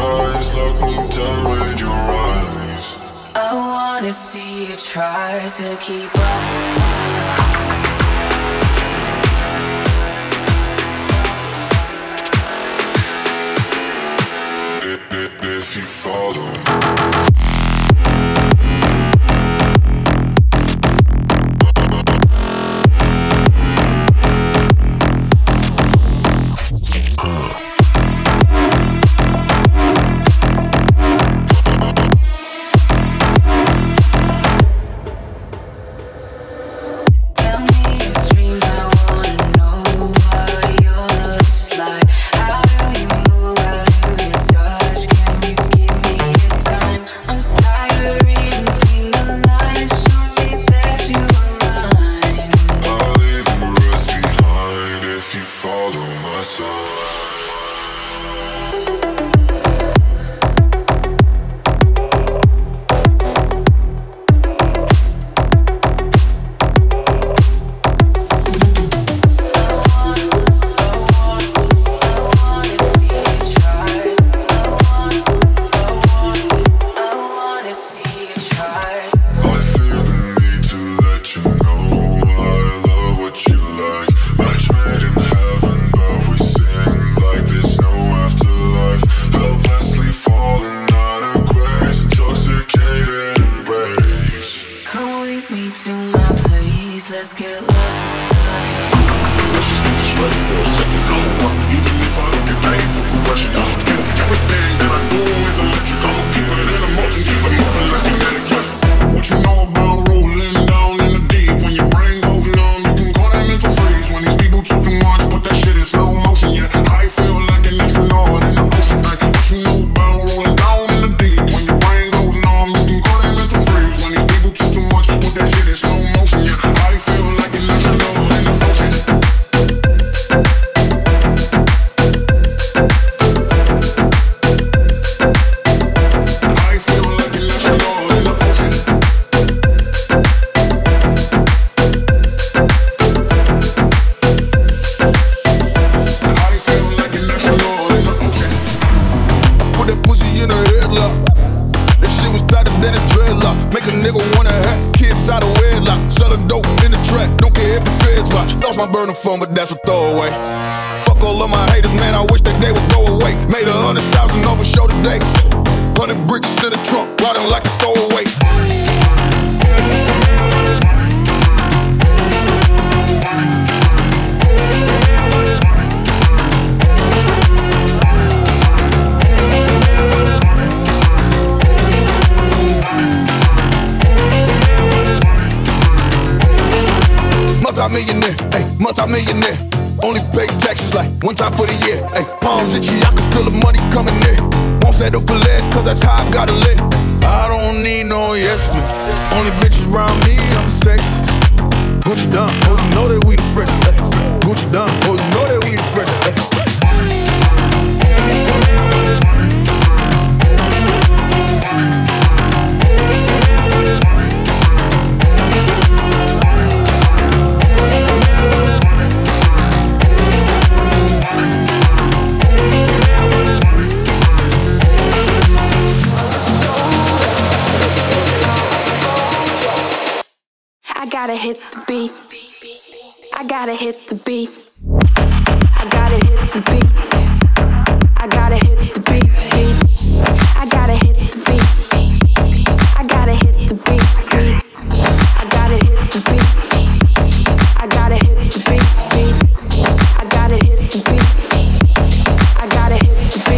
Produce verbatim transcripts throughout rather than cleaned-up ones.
eyes, lock me down with your eyes. I wanna see you try to keep up with my if you follow phone, but that's a throwaway. Fuck all of my haters, man, I wish that they would go away. Made a hundred thousand off a show today. Hundred bricks in the trunk, riding like a stowaway. Multi-millionaire, ayy, multi-millionaire. Only pay taxes like one time for the year. Ayy, palms itchy, I can feel the money coming in. Won't settle for less, cause that's how I gotta live. I don't need no yes man. Only bitches around me, I'm sexy. Gucci done, oh you know that we the freshest. Ayy, Gucci done, oh you know that we the freshest. Ayy. I gotta hit the beat. I gotta hit the beat. I gotta hit the beat. I gotta hit the beat. I gotta hit the beat. I gotta hit the beat. I gotta hit the beat. I gotta hit the beat. I gotta hit the beat. I gotta hit the beat.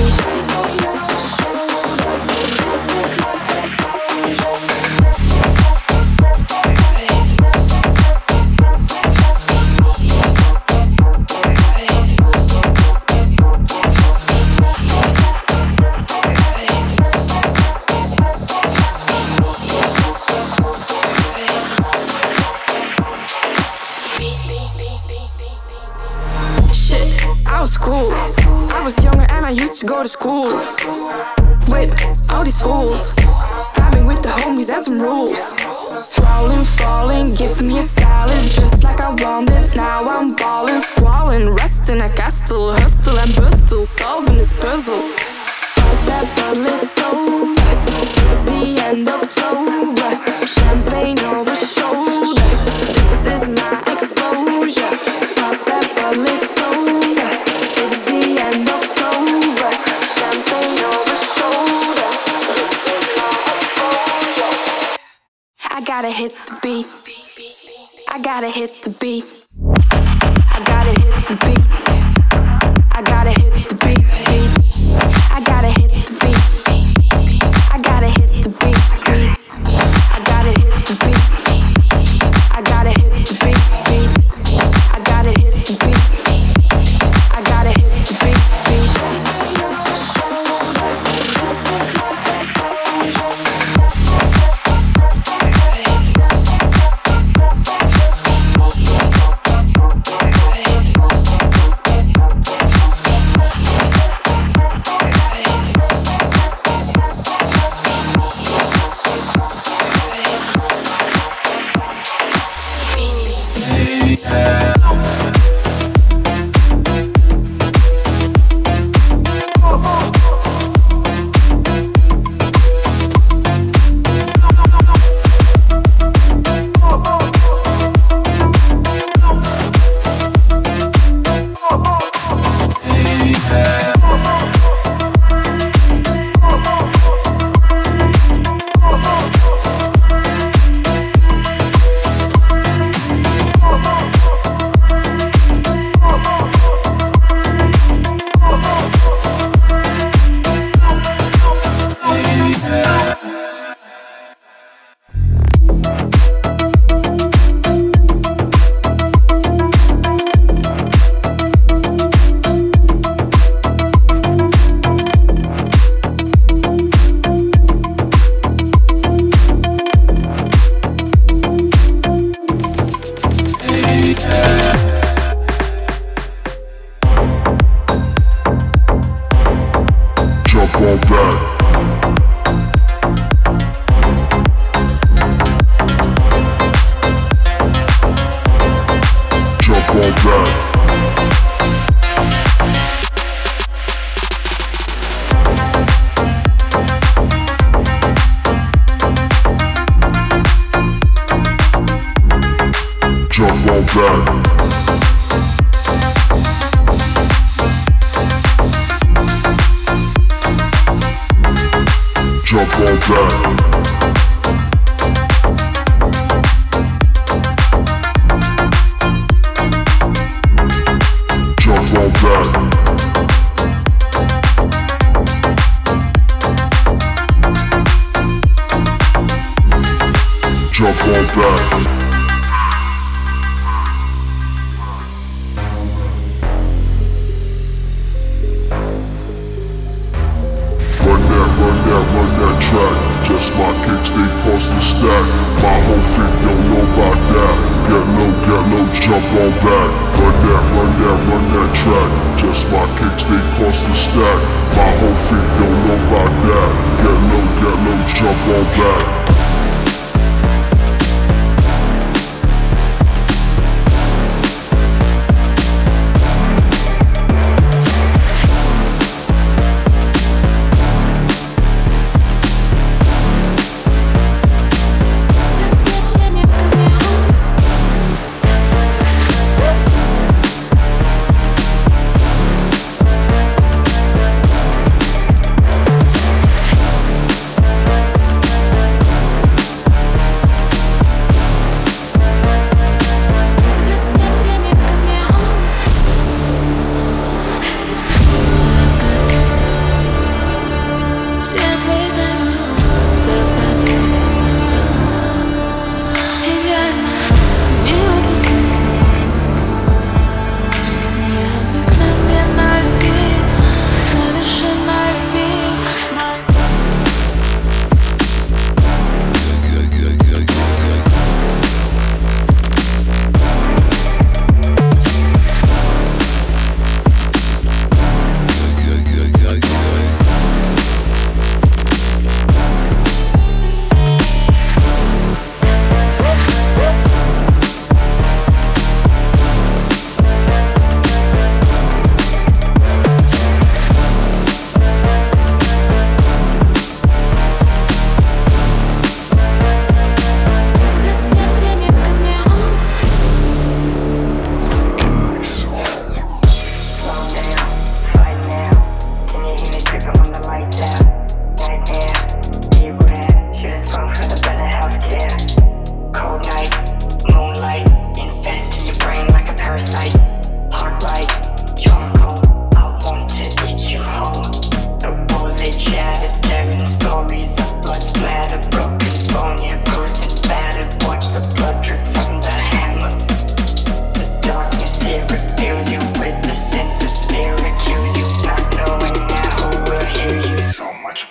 Go to school with all these fools, vibing with the homies and some rules. Crawling, falling, give me a salad just like I wanted. Now I'm balling, squalling, resting. I castle, hustle and bustle, solving this puzzle. Don't well, it's over. It's the end of October. Champagne over shoulder. This is my exposure. Pop that, well, it's over. It's the end of October. Champagne over shoulder. This is my exposure. I gotta hit the beat. I gotta hit the beat. I gotta hit the beat. I gotta hit the beat. I gotta hit the beat. I gotta hit the beat. I gotta hit the beat. I gotta hit the beat. I gotta hit the beat. I gotta hit the beat.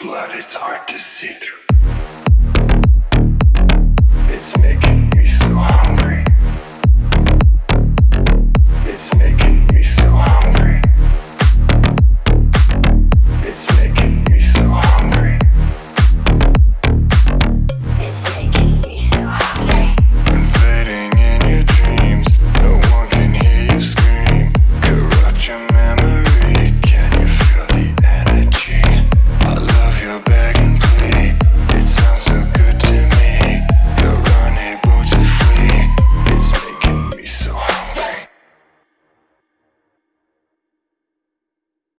blood, it's hard to see through.